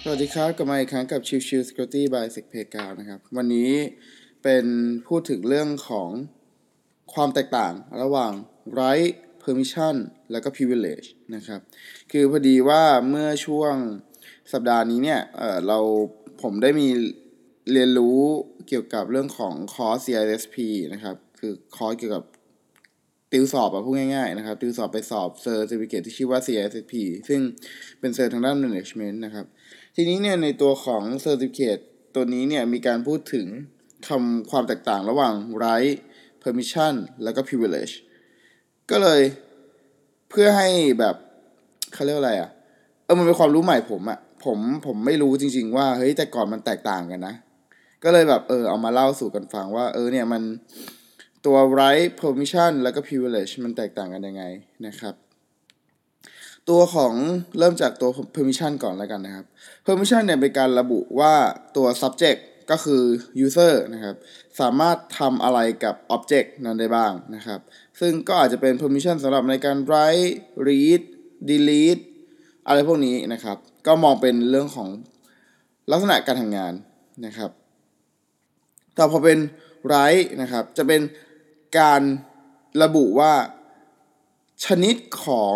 สวัสดีครับกลับมาอีกครั้งกับชิวชิว Security by SecPayGround นะครับวันนี้เป็นพูดถึงเรื่องของความแตกต่างระหว่าง right permission แล้วก็ privilege นะครับคือพอดีว่าเมื่อช่วงสัปดาห์นี้เนี่ยผมได้มีเรียนรู้เกี่ยวกับเรื่องของคอร์ส CISP นะครับคือคอร์สเกี่ยวกับติวสอบพูดง่ายๆนะครับติวสอบไปสอบเซอร์ติฟิเคทที่ชื่อว่า CISP ซึ่งเป็นเซอร์ทางด้าน management นะครับทีนี้เนี่ยในตัวของ certificate ตัวนี้เนี่ยมีการพูดถึงความแตกต่างระหว่าง right permission แล้วก็ privilege ก็เลยเพื่อให้แบบเขาเรียกอะไรมันเป็นความรู้ใหม่ผมไม่รู้จริงๆว่าเฮ้ยแต่ก่อนมันแตกต่างกันนะก็เลยแบบเอามาเล่าสู่กันฟังว่าเนี่ยมันตัว right permission แล้วก็ privilege มันแตกต่างกันยังไงนะครับตัวของเริ่มจากตัว permission ก่อนแล้วกันนะครับ permission เนี่ยเป็นการระบุว่าตัว subject ก็คือ user นะครับสามารถทำอะไรกับ object นั้นได้บ้างนะครับซึ่งก็อาจจะเป็น permission สำหรับในการ write read delete อะไรพวกนี้นะครับก็มองเป็นเรื่องของลักษณะการทำงานนะครับแต่พอเป็น write นะครับจะเป็นการระบุว่าชนิดของ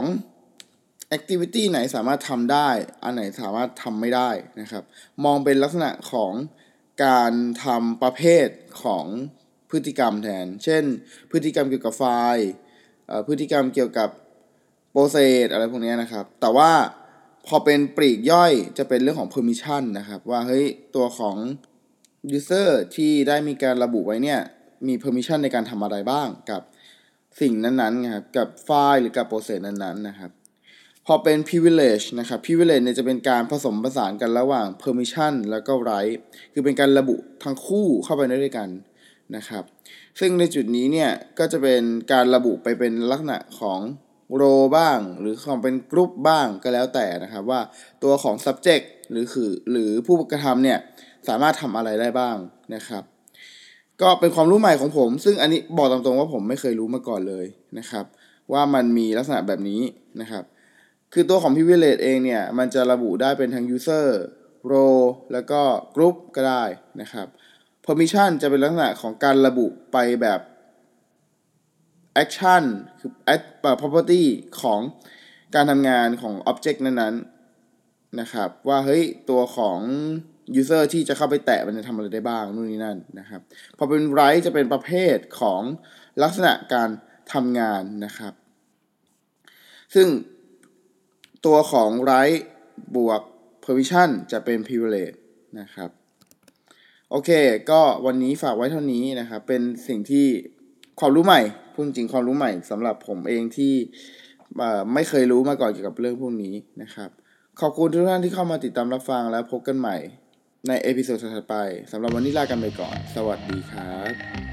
activity ไหนสามารถทำได้อันไหนสามารถทำไม่ได้นะครับมองเป็นลักษณะของการทำประเภทของพฤติกรรมแทนเช่นพฤติกรรมเกี่ยวกับไฟล์พฤติกรรมเกี่ยวกับโปรเซสอะไรพวกนี้นะครับแต่ว่าพอเป็นปลีกย่อยจะเป็นเรื่องของ permission นะครับว่าเฮ้ยตัวของ user ที่ได้มีการระบุไว้เนี่ยมี permission ในการทำอะไรบ้างกับสิ่งนั้นๆนะครับกับไฟล์หรือกับโปรเซสนั้นๆนะครับพอเป็น privilege นะครับ privilege เนี่ยจะเป็นการผสมผสานกันระหว่าง permission แล้วก็ right คือเป็นการระบุทั้งคู่เข้าไปด้วยกันนะครับซึ่งในจุดนี้เนี่ยก็จะเป็นการระบุไปเป็นลักษณะของ role บ้างหรือของเป็น group บ้างก็แล้วแต่นะครับว่าตัวของ subject หรือผู้กระทำเนี่ยสามารถทำอะไรได้บ้างนะครับก็เป็นความรู้ใหม่ของผมซึ่งอันนี้บอกตามตรงว่าผมไม่เคยรู้มาก่อนเลยนะครับว่ามันมีลักษณะแบบนี้นะครับคือตัวของ privilege เองเนี่ยมันจะระบุได้เป็นทั้ง user role แล้วก็ group ก็ได้นะครับ permission จะเป็นลักษณะของการระบุไปแบบ action คือ property ของการทำงานของ object นั้นๆนะครับว่าเฮ้ยตัวของ user ที่จะเข้าไปแตะมันจะทำอะไรได้บ้างนู่นนี่นั่นนะครับพอเป็น right จะเป็นประเภทของลักษณะการทำงานนะครับซึ่งตัวของ right บวก permission จะเป็น privilege นะครับโอเคก็วันนี้ฝากไว้เท่านี้นะครับเป็นสิ่งที่ความรู้ใหม่พูดจริงความรู้ใหม่สำหรับผมเองที่ไม่เคยรู้มาก่อนเกี่ยวกับเรื่องพวกนี้นะครับขอบคุณทุกท่านที่เข้ามาติดตามรับฟังและพบกันใหม่ในเอพิโซดถัดไปสำหรับวันนี้ลากันไปก่อนสวัสดีครับ